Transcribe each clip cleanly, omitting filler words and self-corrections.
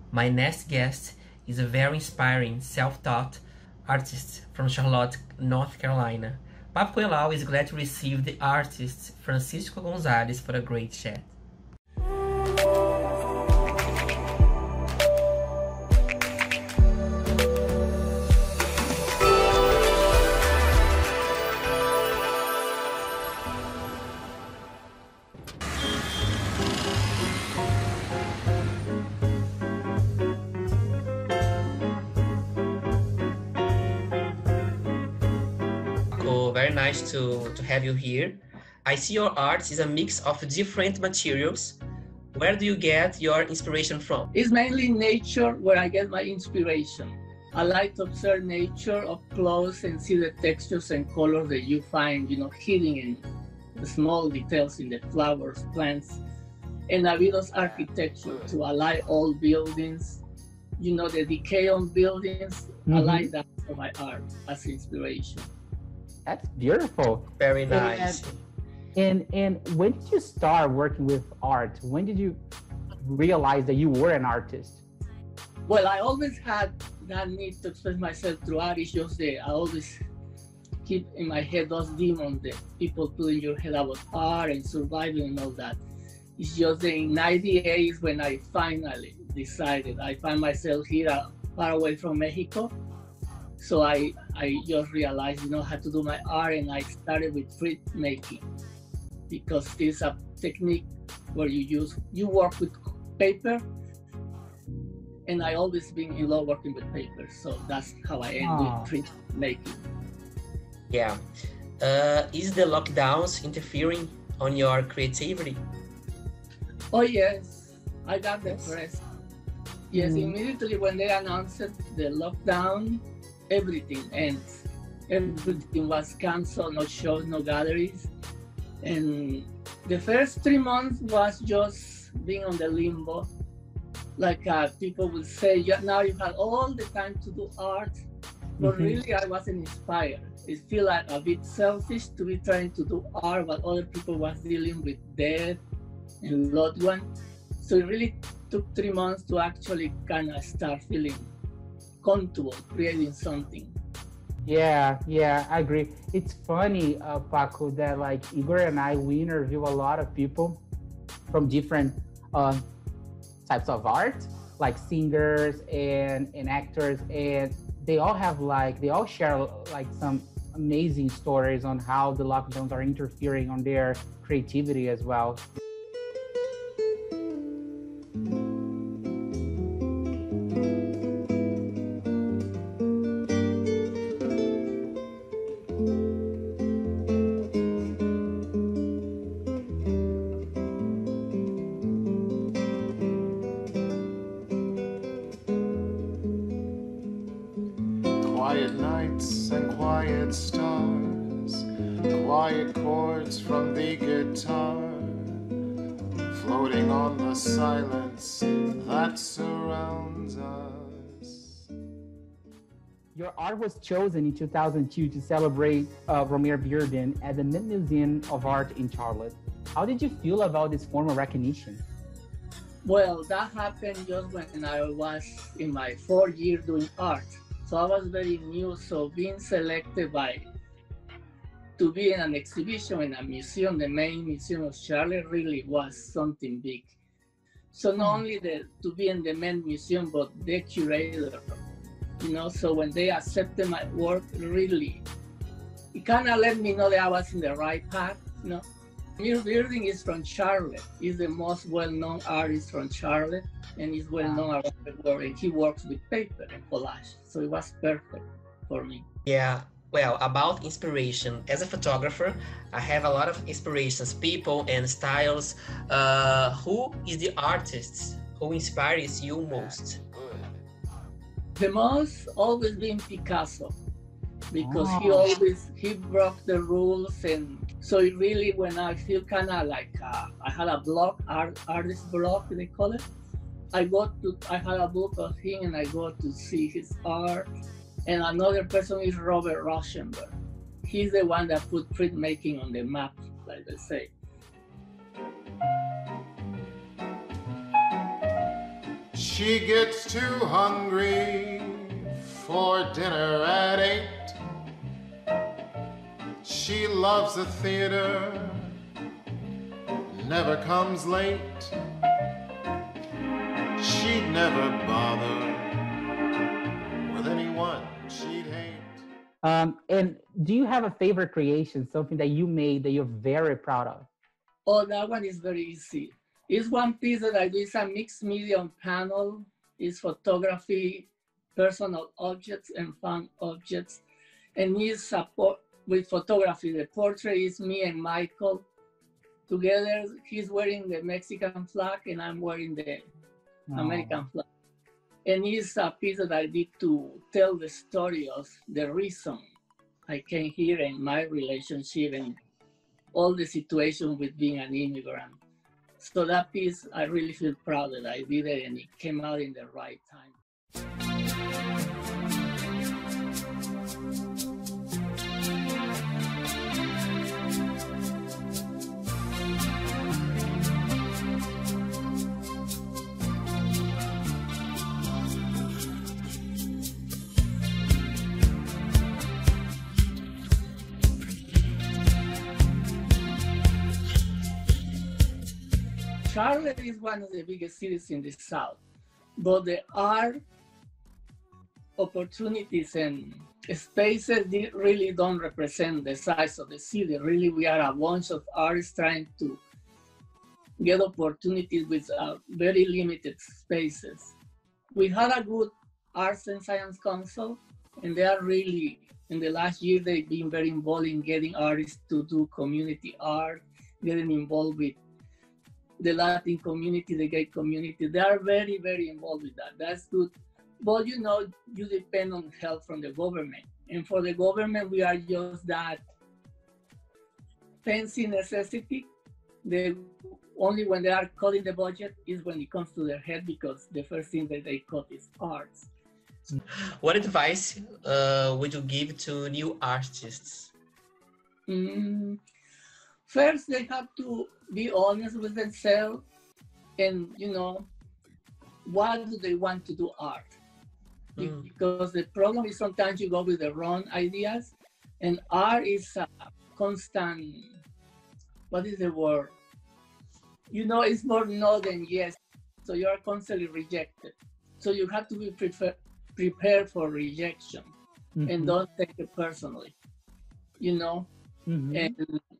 My next guest is a very inspiring, self-taught artist from Charlotte, North Carolina. Papo Coelho is glad to receive the artist Francisco Gonzalez for a great chat. Very nice to have you here. I see your art is a mix of different materials. Where do you get your inspiration from? It's mainly nature where I get my inspiration. I like to observe nature up close and see the textures and colors that you find, hidden in the small details in the flowers, plants, and Navido's architecture to align old buildings, the decay on buildings. I like that for my art as inspiration. That's beautiful. Very nice. And when did you start working with art? When did you realize that you were an artist? Well, I always had that need to express myself through art. It's just that I always keep in my head those demons that people put in your head about art and surviving and all that. It's just that in 98 when I finally decided, I find myself here far away from Mexico. So I just realized, how to do my art, and I started with printmaking because this is a technique where you work with paper, and I always been in love working with paper. So that's how I end with printmaking. Yeah. Is the lockdowns interfering on your creativity? Oh yes, I got depressed. Yes, immediately when they announced the lockdown, everything ends. Everything was canceled, no shows, no galleries. And the first 3 months was just being on the limbo. Like people would say, now you have all the time to do art. But really, I wasn't inspired. It felt like a bit selfish to be trying to do art while other people was dealing with death and loved one. So it really took 3 months to actually kind of start feeling comfortable creating something. Yeah, I agree. It's funny, Paco, that like Igor and I, we interview a lot of people from different types of art, like singers and actors, and they all share like some amazing stories on how the lockdowns are interfering on their creativity as well. Quiet nights and quiet stars, quiet chords from the guitar, floating on the silence that surrounds us. Your art was chosen in 2002 to celebrate Romare Bearden at the Mint Museum of Art in Charlotte. How did you feel about this form of recognition? Well, that happened just when I was in my 4th year doing art. So I was very new, so being selected to be in an exhibition in a museum, the main museum of Charlotte, really was something big. So not only to be in the main museum, but the curator, so when they accepted my work, really, it kind of let me know that I was in the right path, Romare Bearden is from Charlotte. He's the most well-known artist from Charlotte, and he's well-known around the world, and he works with paper and collage. So it was perfect for me. Yeah, well, about inspiration. As a photographer, I have a lot of inspirations, people and styles. Who is the artist who inspires you most? The most always been Picasso, because he broke the rules, and so it really, when I feel kind of like I had a blog, artist blog they call it, I had a book of him and I go to see his art. And another person is Robert Rauschenberg. He's the one that put printmaking on the map, like they say. She gets too hungry for dinner at 8. She loves the theater, never comes late. She'd never bother with anyone she'd hate. And do you have a favorite creation, something that you made that you're very proud of? Oh, that one is very easy. It's one piece that I do. It's a mixed medium panel. It's photography, personal objects, and fun objects. And it's with photography. The portrait is me and Michael together. He's wearing the Mexican flag, and I'm wearing the American flag. And it's a piece that I did to tell the story of the reason I came here and my relationship and all the situation with being an immigrant. So that piece, I really feel proud that I did it and it came out in the right time. Charlotte is one of the biggest cities in the South, but the art opportunities and spaces really don't represent the size of the city. Really, we are a bunch of artists trying to get opportunities with very limited spaces. We had a good Arts and Science Council, and they are really, in the last year, they've been very involved in getting artists to do community art, getting involved with the Latin community, the gay community. They are very, very involved with that. That's good. But you know, you depend on help from the government. And for the government, we are just that fancy necessity. Only when they are cutting the budget is when it comes to their head, because the first thing that they cut is arts. What advice would you give to new artists? First, they have to be honest with themselves and, you know, why do they want to do art? Because the problem is sometimes you go with the wrong ideas, and art is a constant, what is the word? You know, it's more no than yes. So you are constantly rejected. So you have to be prepared for rejection and don't take it personally, you know? And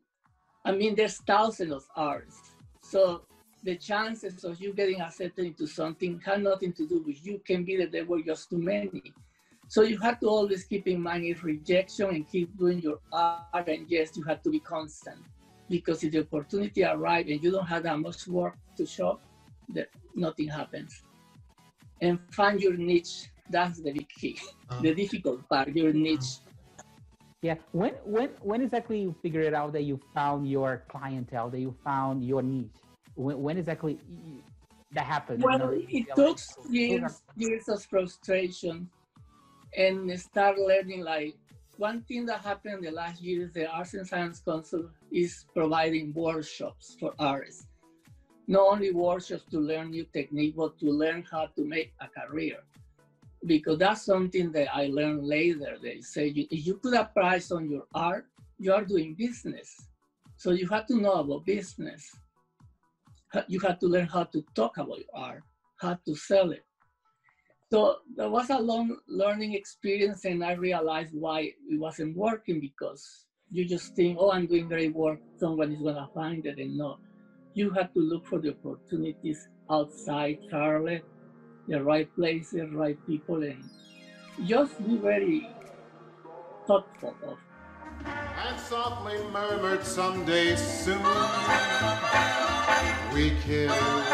I mean, there's thousands of artists. So the chances of you getting accepted into something have nothing to do with you. Can be that there were just too many. So you have to always keep in mind it's rejection and keep doing your art. And yes, you have to be constant, because if the opportunity arrives and you don't have that much work to show, that nothing happens. And find your niche. That's the big key. The difficult part, your niche. Yeah. When exactly you figured out that you found your clientele, that you found your niche? When exactly that happened? Well, it took years of frustration and start learning. Like, one thing that happened in the last year is the Arts and Science Council is providing workshops for artists. Not only workshops to learn new technique, but to learn how to make a career. Because that's something that I learned later. They say, if you put a price on your art, you are doing business. So you have to know about business. You have to learn how to talk about your art, how to sell it. So there was a long learning experience, and I realized why it wasn't working, because you just think, oh, I'm doing great work, someone is gonna find it, and no. You have to look for the opportunities outside Charlotte, the right places, right people, and just be very thoughtful of. And softly murmured, someday soon we kissed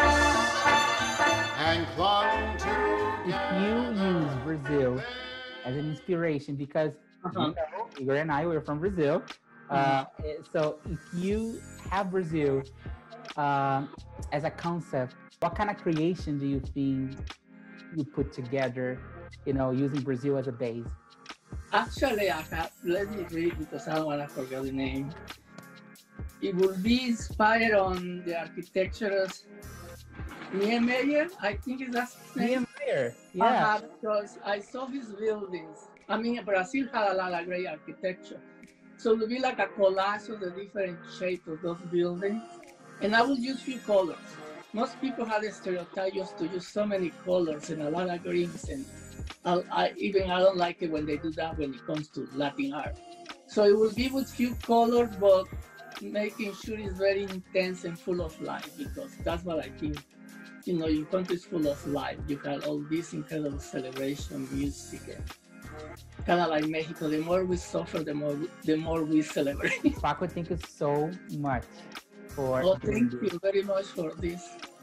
and clung together. If you use Brazil as an inspiration, because you know, Igor and I were from Brazil, so if you have Brazil as a concept, what kind of creation do you think you put together, you know, using Brazil as a base? Actually, let me read, because I don't want to forget the name. It will be inspired on the architectures Niemeyer, I think is that his name. Niemeyer, yeah. Because I saw his buildings. I mean, Brazil had a lot of great architecture. So it would be like a collage of the different shapes of those buildings. And I would use few colors. Most people have the stereotype just to use so many colors and a lot of greens. And I don't like it when they do that when it comes to Latin art. So it will be with few colors, but making sure it's very intense and full of life, because that's what I think. You know, your country is full of life. You have all this incredible celebration, music, and kind of like Mexico. The more we suffer, the more we celebrate. Paco, thank you so much for thank you very much for this.